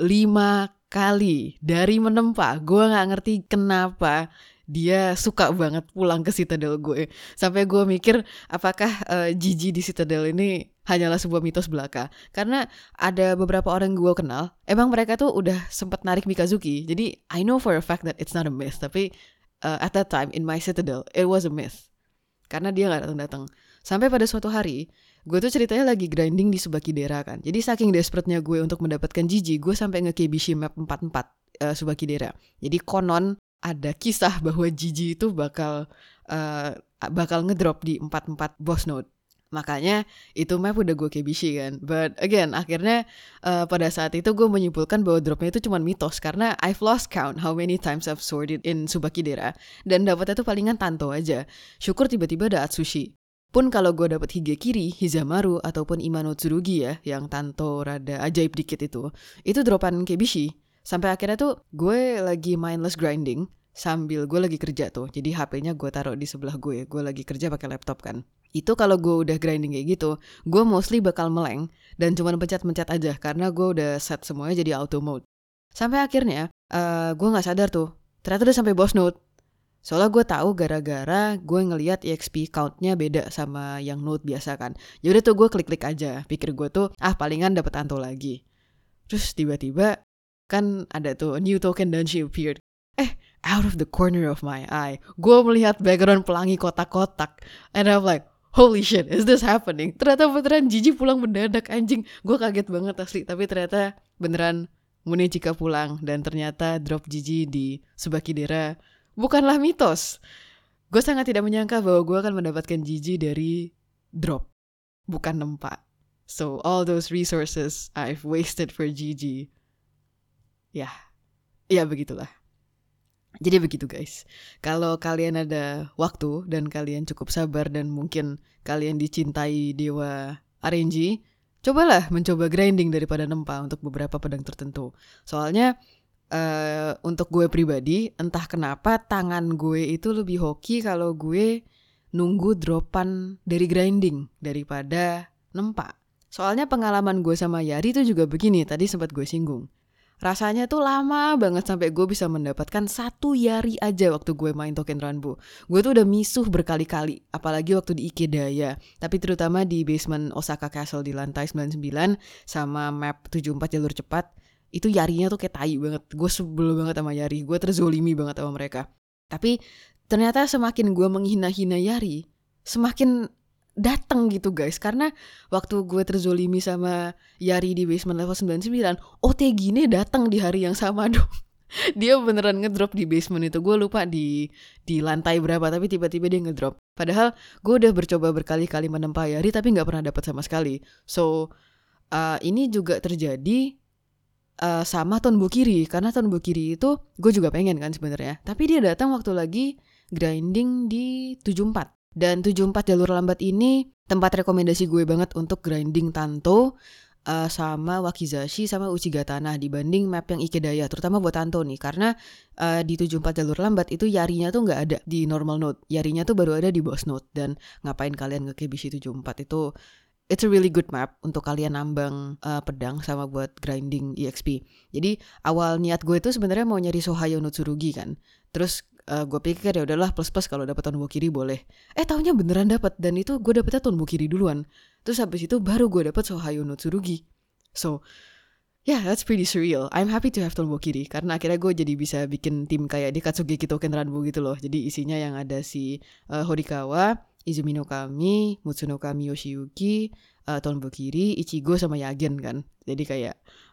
Lima kali dari menempa. Gue gak ngerti kenapa dia suka banget pulang ke Citadel gue. Sampai gue mikir apakah uh, Jiji di Citadel ini hanyalah sebuah mitos belaka. Karena ada beberapa orang gue kenal, emang mereka tuh udah sempat narik Mikazuki. Jadi I know for a fact that it's not a myth. Tapi uh, at that time in my Citadel, it was a myth. Karena dia gak datang-datang. Sampai pada suatu hari, gue tuh ceritanya lagi grinding di Subakidera kan. Jadi saking desperate-nya gue untuk mendapatkan Jiji, gue sampai nge-Kebishi map empat empat uh, Subakidera. Jadi konon ada kisah bahwa Jiji itu bakal uh, bakal ngedrop di empat empat boss node. Makanya itu map udah gue kebishi kan. But again, akhirnya uh, pada saat itu gue menyimpulkan bahwa dropnya itu cuma mitos. Karena I've lost count how many times I've sworded in Subakidera. Dan dapetnya tuh palingan Tanto aja. Syukur tiba-tiba ada Atsushi. Pun kalau gue dapet Higekiri, Hizamaru, ataupun Imano Tsurugi ya, yang Tanto rada ajaib dikit itu, itu dropan kebishi. Sampai akhirnya tuh gue lagi mindless grinding sambil gue lagi kerja tuh. Jadi H P-nya gue taruh di sebelah gue. Gue lagi kerja pakai laptop kan. Itu kalau gue udah grinding kayak gitu, gue mostly bakal meleng dan cuma pencet-pencet aja karena gue udah set semuanya jadi auto mode. Sampai akhirnya uh, gue nggak sadar tuh, ternyata udah sampai boss node. Soalnya gue tahu gara-gara gue ngelihat E X P count-nya beda sama yang node biasa kan. Yaudah tuh gue klik-klik aja. Pikir gue tuh ah palingan dapet Tanto lagi. Terus tiba-tiba kan ada tuh new token Danshi appeared. Eh, out of the corner of my eye, gue melihat background pelangi kotak-kotak. And I'm like, holy shit, is this happening? Ternyata beneran Jiji pulang mendadak, anjing. Gue kaget banget asli. Tapi ternyata beneran Munechika pulang. Dan ternyata drop Jiji di Subakidera bukanlah mitos. Gue sangat tidak menyangka bahwa gue akan mendapatkan Jiji dari drop, bukan nempa. So all those resources I've wasted for Jiji. Ya, ya begitulah. Jadi begitu guys. Kalau kalian ada waktu dan kalian cukup sabar dan mungkin kalian dicintai dewa R N G, cobalah mencoba grinding daripada nempa untuk beberapa pedang tertentu. Soalnya uh, untuk gue pribadi, entah kenapa tangan gue itu lebih hoki kalau gue nunggu dropan dari grinding daripada nempa. Soalnya pengalaman gue sama Yari itu juga begini, tadi sempat gue singgung. Rasanya tuh lama banget sampai gue bisa mendapatkan satu Yari aja waktu gue main Token Ranbu. Gue tuh udah misuh berkali-kali, apalagi waktu di Ikedaya. Tapi terutama di basement Osaka Castle di lantai sembilan puluh sembilan sama map tujuh puluh empat jalur cepat. Itu Yarinya tuh kayak tai banget. Gue sebel banget sama Yari, gue terzolimi banget sama mereka. Tapi ternyata semakin gue menghina-hina Yari, semakin datang gitu guys. Karena waktu gue terzolimi sama Yari di basement level sembilan puluh sembilan, O T G-nya datang di hari yang sama dong. Dia beneran ngedrop di basement itu. Gue lupa di di lantai berapa, tapi tiba-tiba dia ngedrop. Padahal gue udah bercoba berkali-kali menempa Yari tapi gak pernah dapat sama sekali. So uh, ini juga terjadi uh, sama Tonbukiri. Karena Tonbukiri itu gue juga pengen kan sebenarnya. Tapi dia datang waktu lagi grinding di tujuh puluh empat. Dan tujuh puluh empat jalur lambat ini tempat rekomendasi gue banget untuk grinding Tanto uh, sama Wakizashi sama Uchigatana dibanding map yang Ikedaya, terutama buat Tanto nih. Karena uh, di tujuh puluh empat jalur lambat itu Yarinya tuh gak ada di normal node, Yarinya tuh baru ada di boss node. Dan ngapain kalian ke Kebishi tujuh puluh empat itu, it's a really good map untuk kalian nambang uh, pedang sama buat grinding E X P. Jadi awal niat gue tuh sebenarnya mau nyari Sohayo no Tsurugi kan. Terus Uh, gue pikir ya udahlah plus plus kalau dapat Tonbukiri boleh. Eh taunya beneran dapat, dan itu gue dapetnya Tonbukiri duluan. Terus habis itu baru gue dapat Sohayo no Tsurugi. So Yeah, that's pretty surreal. I'm happy to have Tonbokiri karena akhirnya gue jadi bisa bikin tim kayak di Katsugeki Token Ranbu gitu loh. Jadi isinya yang ada si uh, Horikawa, Izumi no Kami, Mutsu no Kami Yoshiyuki, uh, Tonbokiri, Ichigo sama Yagen kan. Jadi kayak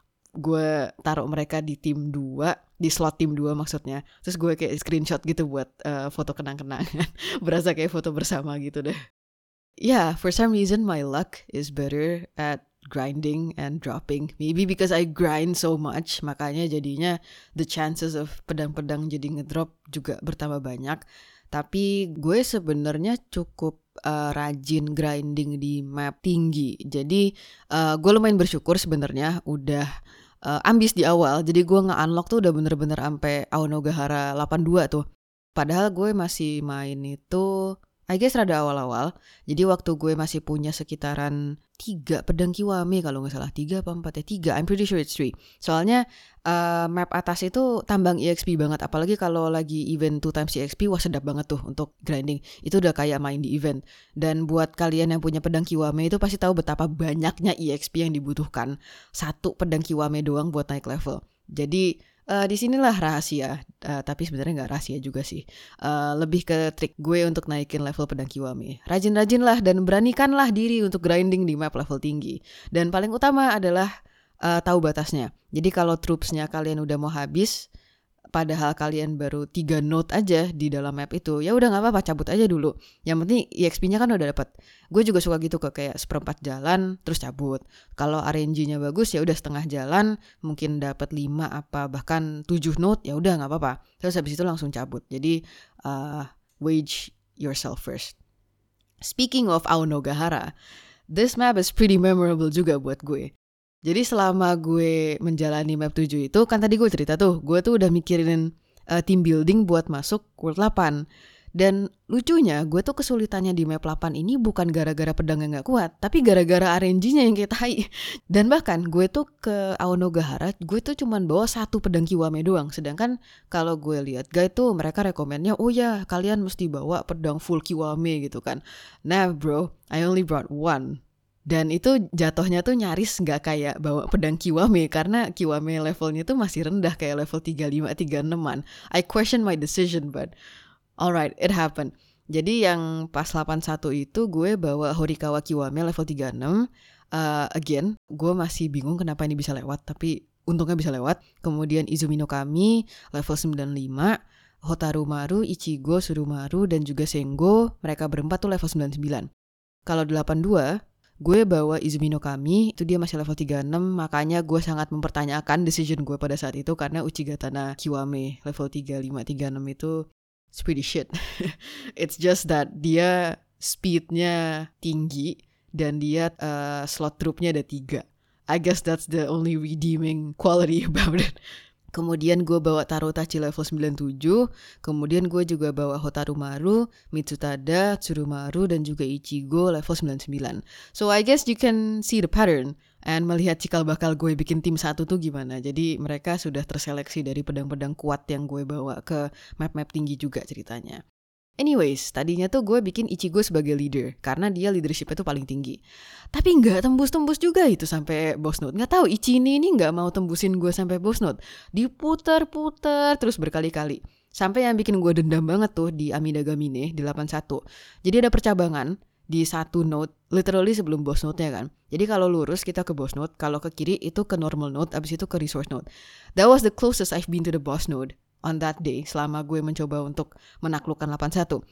gue taruh mereka di tim dua, di slot tim dua maksudnya. Terus gue kayak screenshot gitu buat uh, foto kenang-kenangan. Berasa kayak foto bersama gitu deh. Yeah, for some reason my luck is better at grinding and dropping. Maybe because I grind so much, makanya jadinya the chances of pedang-pedang jadi ngedrop juga bertambah banyak. Tapi gue sebenarnya cukup uh, rajin grinding di map tinggi. Jadi uh, gue lumayan bersyukur sebenarnya udah uh, ambis di awal. Jadi gue nge-unlock tuh udah bener-bener sampai Aonogahara delapan puluh dua tuh. Padahal gue masih main itu I guess rada awal-awal. Jadi waktu gue masih punya sekitaran tiga pedang Kiwame kalau nggak salah. Tiga apa empat ya? Tiga. I'm pretty sure it's three. Soalnya uh, map atas itu tambang E X P banget. Apalagi kalau lagi event two times E X P, wah sedap banget tuh untuk grinding. Itu udah kayak main di event. Dan buat kalian yang punya pedang Kiwame itu pasti tahu betapa banyaknya E X P yang dibutuhkan. Satu pedang Kiwame doang buat naik level. Jadi Uh, di sinilah rahasia, uh, tapi sebenarnya nggak rahasia juga sih. Uh, lebih ke trik gue untuk naikin level pedang Kiwame. Rajin-rajinlah dan beranikanlah diri untuk grinding di map level tinggi. Dan paling utama adalah uh, tahu batasnya. Jadi kalau troopsnya kalian udah mau habis, padahal kalian baru tiga note aja di dalam map itu, ya udah nggak apa-apa, cabut aja dulu. Yang penting E X P-nya kan udah dapat. Gue juga suka gitu ke kayak seperempat jalan terus cabut. Kalau R N G-nya bagus ya udah setengah jalan, mungkin dapat lima apa bahkan tujuh note, ya udah nggak apa-apa. Terus habis itu langsung cabut. Jadi uh, wage yourself first. Speaking of Aonogahara, this map is pretty memorable juga buat gue. Jadi selama gue menjalani map tujuh itu, kan tadi gue cerita tuh, gue tuh udah mikirin uh, team building buat masuk World delapan. Dan lucunya, gue tuh kesulitannya di map delapan ini bukan gara-gara pedangnya gak kuat, tapi gara-gara R N G-nya yang kayak tai. Dan bahkan gue tuh ke Aonogahara, gue tuh cuman bawa satu pedang Kiwame doang. Sedangkan kalau gue lihat guide tuh mereka rekomennya, oh ya kalian mesti bawa pedang full Kiwame gitu kan. Nah bro, I only brought one. Dan itu jatuhnya tuh nyaris gak kayak bawa pedang Kiwame, karena Kiwame levelnya tuh masih rendah kayak level tiga puluh lima tiga puluh enam-an. I question my decision, but alright, it happened. Jadi yang pas delapan puluh satu itu gue bawa Horikawa Kiwame level tiga puluh enam. Uh, again, gue masih bingung kenapa ini bisa lewat, tapi untungnya bisa lewat. Kemudian Izumi no Kami level sembilan puluh lima. Hotaru Maru, Ichigo, Surumaru, dan juga Sengo, mereka berempat tuh level sembilan puluh sembilan. Kalau delapan puluh dua, gue bawa Izumi no Kami, itu dia masih level tiga puluh enam, makanya gue sangat mempertanyakan decision gue pada saat itu karena Uchigatana Kiwame level tiga puluh lima tiga puluh enam itu it's pretty shit. It's just that dia speednya tinggi dan dia uh, slot troopnya ada tiga. I guess that's the only redeeming quality about it. Kemudian gue bawa Tarotachi level sembilan puluh tujuh. Kemudian gue juga bawa Hotaru Maru, Mitsutada, Tsurumaru, dan juga Ichigo level sembilan puluh sembilan. So I guess you can see the pattern. And melihat cikal bakal gue bikin tim satu tuh gimana. Jadi mereka sudah terseleksi dari pedang-pedang kuat yang gue bawa ke map-map tinggi juga ceritanya. Anyways, tadinya tuh gue bikin Ichigo sebagai leader karena dia leadershipnya tuh paling tinggi. Tapi nggak tembus-tembus juga itu sampai boss note. Nggak tahu Ichini ini nggak mau tembusin gue sampai boss note. Diputer-puter terus berkali-kali. Sampai yang bikin gue dendam banget tuh di Amida Gamine di delapan puluh satu. Jadi ada percabangan di satu note, literally sebelum boss note-nya kan. Jadi kalau lurus kita ke boss note, kalau ke kiri itu ke normal note, abis itu ke resource note. That was the closest I've been to the boss note on that day selama gue mencoba untuk menaklukkan delapan puluh satu.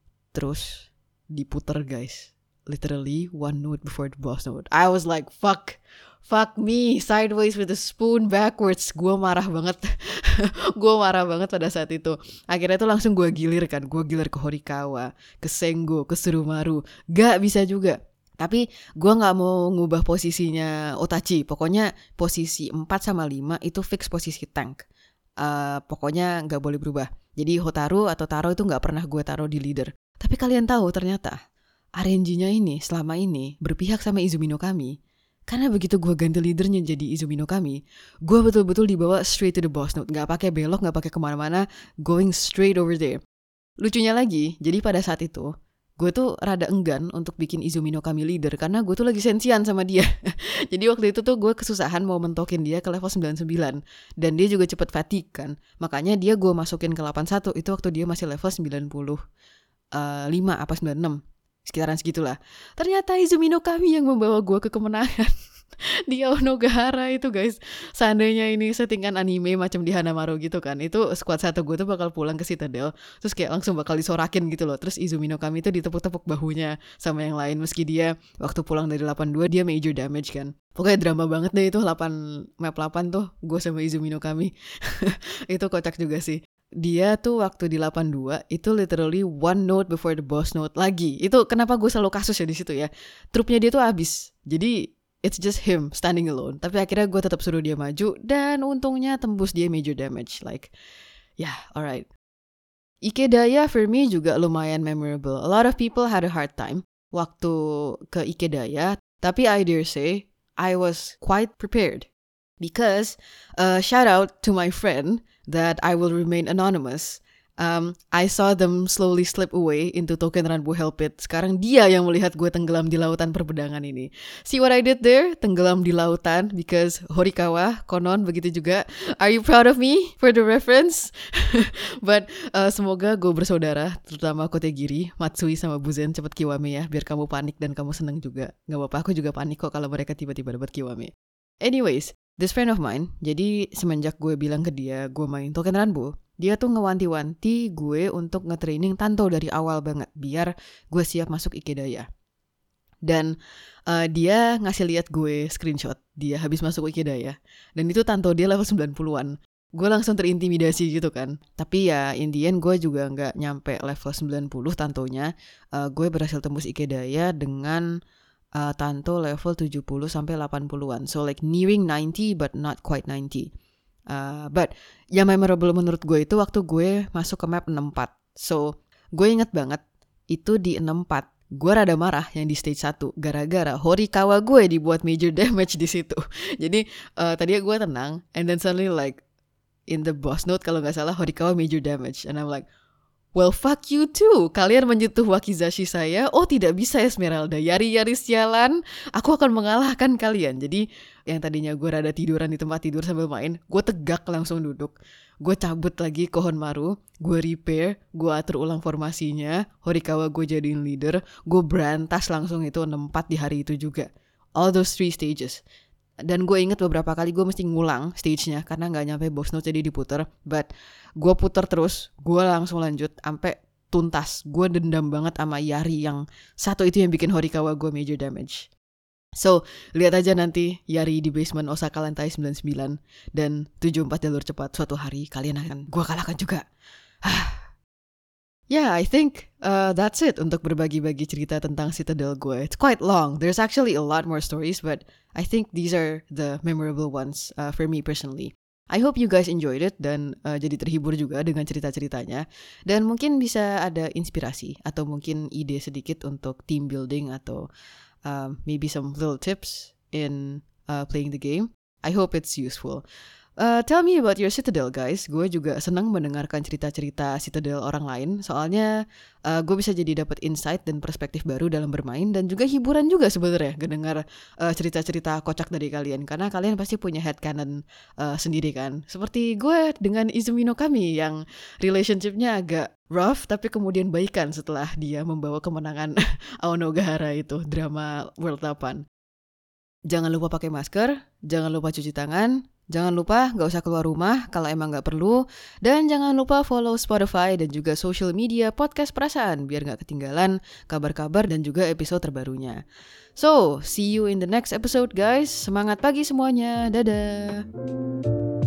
Terus diputer guys, literally one note before the boss note. I was like fuck, fuck me, sideways with a spoon backwards. Gue marah banget. Gue marah banget pada saat itu. Akhirnya tuh langsung gue gilir kan. Gue gilir ke Horikawa, ke Sengo, ke Tsurumaru. Gak bisa juga. Tapi gue gak mau ngubah posisinya Otachi. Pokoknya posisi empat sama lima itu fix posisi tank. Uh, pokoknya gak boleh berubah. Jadi Hotaru atau Taro itu gak pernah gue taruh di leader. Tapi kalian tahu ternyata R N G-nya ini selama ini berpihak sama Izumi no Kami. Karena begitu gue ganti leadernya jadi Izumi no Kami, gue betul-betul dibawa straight to the boss note. Gak pakai belok, gak pakai kemana-mana, going straight over there. Lucunya lagi, jadi pada saat itu gue tuh rada enggan untuk bikin Izumi no Kami leader karena gue tuh lagi sensian sama dia. Jadi waktu itu tuh gue kesusahan mau mentokin dia ke level sembilan puluh sembilan dan dia juga cepet fatigue kan. Makanya dia gue masukin ke delapan puluh satu itu waktu dia masih level sembilan puluh lima apa sembilan puluh enam. Sekitaran segitulah. Ternyata Izumi no Kami yang membawa gue ke kemenangan. Di Aonogahara itu guys. Seandainya ini settingan anime macam di Hanamaru gitu kan, itu squad satu gue tuh bakal pulang ke Citadel, terus kayak langsung bakal disorakin gitu loh. Terus Izumi no Kami tuh ditepuk-tepuk bahunya sama yang lain, meski dia waktu pulang dari delapan puluh dua dia major damage kan. Pokoknya drama banget deh itu delapan map delapan tuh gue sama Izumi no Kami. Itu kocak juga sih. Dia tuh waktu di delapan puluh dua itu literally one note before the boss note lagi. Itu kenapa gue selalu kasus ya di situ ya. Trupnya dia tuh habis. Jadi it's just him standing alone. Tapi akhirnya gue tetap suruh dia maju dan untungnya tembus dia major damage. Like, yeah, alright. Ikedaya for me juga lumayan memorable. A lot of people had a hard time waktu ke Ikedaya. Tapi I dare say, I was quite prepared. Because, uh, shout out to my friend that I will remain anonymous. Um, I saw them slowly slip away into Token Ranbu Hell Pit. Sekarang dia yang melihat gue tenggelam di lautan perpedangan ini. See what I did there? Tenggelam di lautan because Horikawa, konon begitu juga. Are you proud of me for the reference? But uh, semoga gue bersaudara, terutama Kotegiri, Matsui sama Buzen cepet Kiwame ya, biar kamu panik dan kamu seneng juga. Gak apa-apa, aku juga panik kok kalau mereka tiba-tiba dapat Kiwame. Anyways, this friend of mine, jadi semenjak gue bilang ke dia gue main Token Ranbu, dia tuh ngewanti-wanti gue untuk nge-training Tanto dari awal banget biar gue siap masuk Ikedaya. Dan uh, dia ngasih lihat gue screenshot dia habis masuk Ikedaya. Dan itu Tanto dia level sembilan puluhan. Gue langsung terintimidasi gitu kan. Tapi ya in the end gue juga gak nyampe level sembilan puluh Tantonya. Uh, gue berhasil tembus Ikedaya dengan uh, Tanto level tujuh puluh sampai delapan puluhan. So like nearing ninety but not quite ninety. Uh, but yang memorable menurut gue itu waktu gue masuk ke map enam puluh empat. So gue inget banget itu di enam puluh empat gue rada marah yang di stage satu gara-gara Horikawa gue dibuat major damage di situ. Jadi uh, tadinya gue tenang and then suddenly like in the boss note kalau gak salah Horikawa major damage and I'm like, well fuck you too. Kalian menyentuh Wakizashi saya. Oh tidak bisa Esmeralda. Yari-yari sialan. Aku akan mengalahkan kalian. Jadi yang tadinya gue rada tiduran di tempat tidur sambil main, gue tegak langsung duduk. Gue cabut lagi ke Honmaru. Gue repair. Gue atur ulang formasinya. Horikawa gue jadiin leader. Gue berantas langsung itu enam puluh empat di hari itu juga. All those three stages. Dan gue inget beberapa kali gue mesti ngulang stage-nya karena gak nyampe boss note jadi diputer. But gue puter terus, gue langsung lanjut sampai tuntas. Gue dendam banget sama Yari yang satu itu yang bikin Horikawa gue major damage. So, lihat aja nanti Yari di basement Osaka lantai sembilan puluh sembilan dan tujuh puluh empat jalur cepat. Suatu hari kalian akan gue kalahkan juga. Yeah, I think uh, that's it untuk berbagi-bagi cerita tentang Citadel gue. It's quite long. There's actually a lot more stories, but I think these are the memorable ones uh, for me personally. I hope you guys enjoyed it dan uh, jadi terhibur juga dengan cerita-ceritanya. Dan mungkin bisa ada inspirasi atau mungkin ide sedikit untuk team building atau uh, maybe some little tips in uh, playing the game. I hope it's useful. Uh, tell me about your Citadel guys. Gue juga senang mendengarkan cerita-cerita Citadel orang lain. Soalnya uh, gue bisa jadi dapat insight dan perspektif baru dalam bermain. Dan juga hiburan juga sebenarnya mendengar uh, cerita-cerita kocak dari kalian. Karena kalian pasti punya headcanon uh, sendiri kan. Seperti gue dengan Izumi no Kami yang relationshipnya agak rough tapi kemudian baikan setelah dia membawa kemenangan Aonogahara itu, drama World delapan. Jangan lupa pakai masker, jangan lupa cuci tangan, jangan lupa gak usah keluar rumah kalau emang gak perlu, dan jangan lupa follow Spotify dan juga social media Podcast Perasaan biar gak ketinggalan kabar-kabar dan juga episode terbarunya. So, see you in the next episode guys. Semangat pagi semuanya, dadah!